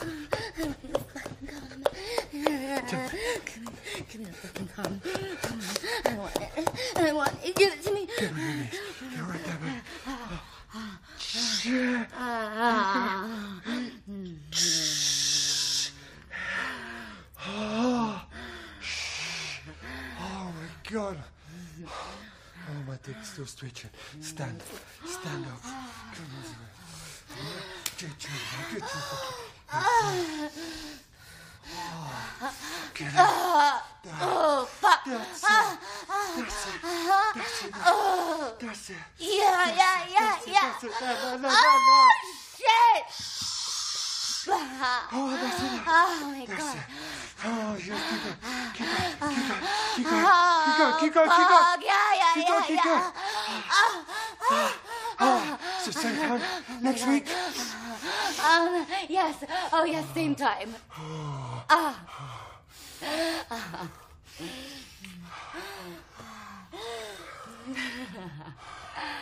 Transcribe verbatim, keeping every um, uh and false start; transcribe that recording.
Give me the fucking cum. Come on. I want it. I want it. Give it to me. Get me released. Get right there, baby. Shit. Oh. Oh my God. Oh, my dick's still stretching. Stand. Stand up. Come on. Get you. Get you. Oh, get it. Oh, fuck. That's it. That's it. That's it. Oh. That's it. Yeah, yeah, yeah, That's it. yeah. That's it. No, no, no, no, Oh, no. shit. Oh, that's it. Oh, my That's God. it. Oh, yes, keep going. Keep going. Keep going. Keep Oh, going. Keep going. Keep going. Keep going. fuck. Yeah, yeah, Keep yeah, going. Keep yeah. going. Oh, Oh, so same time next week? Um, yes. Oh, yes, same time. Ah. Ah.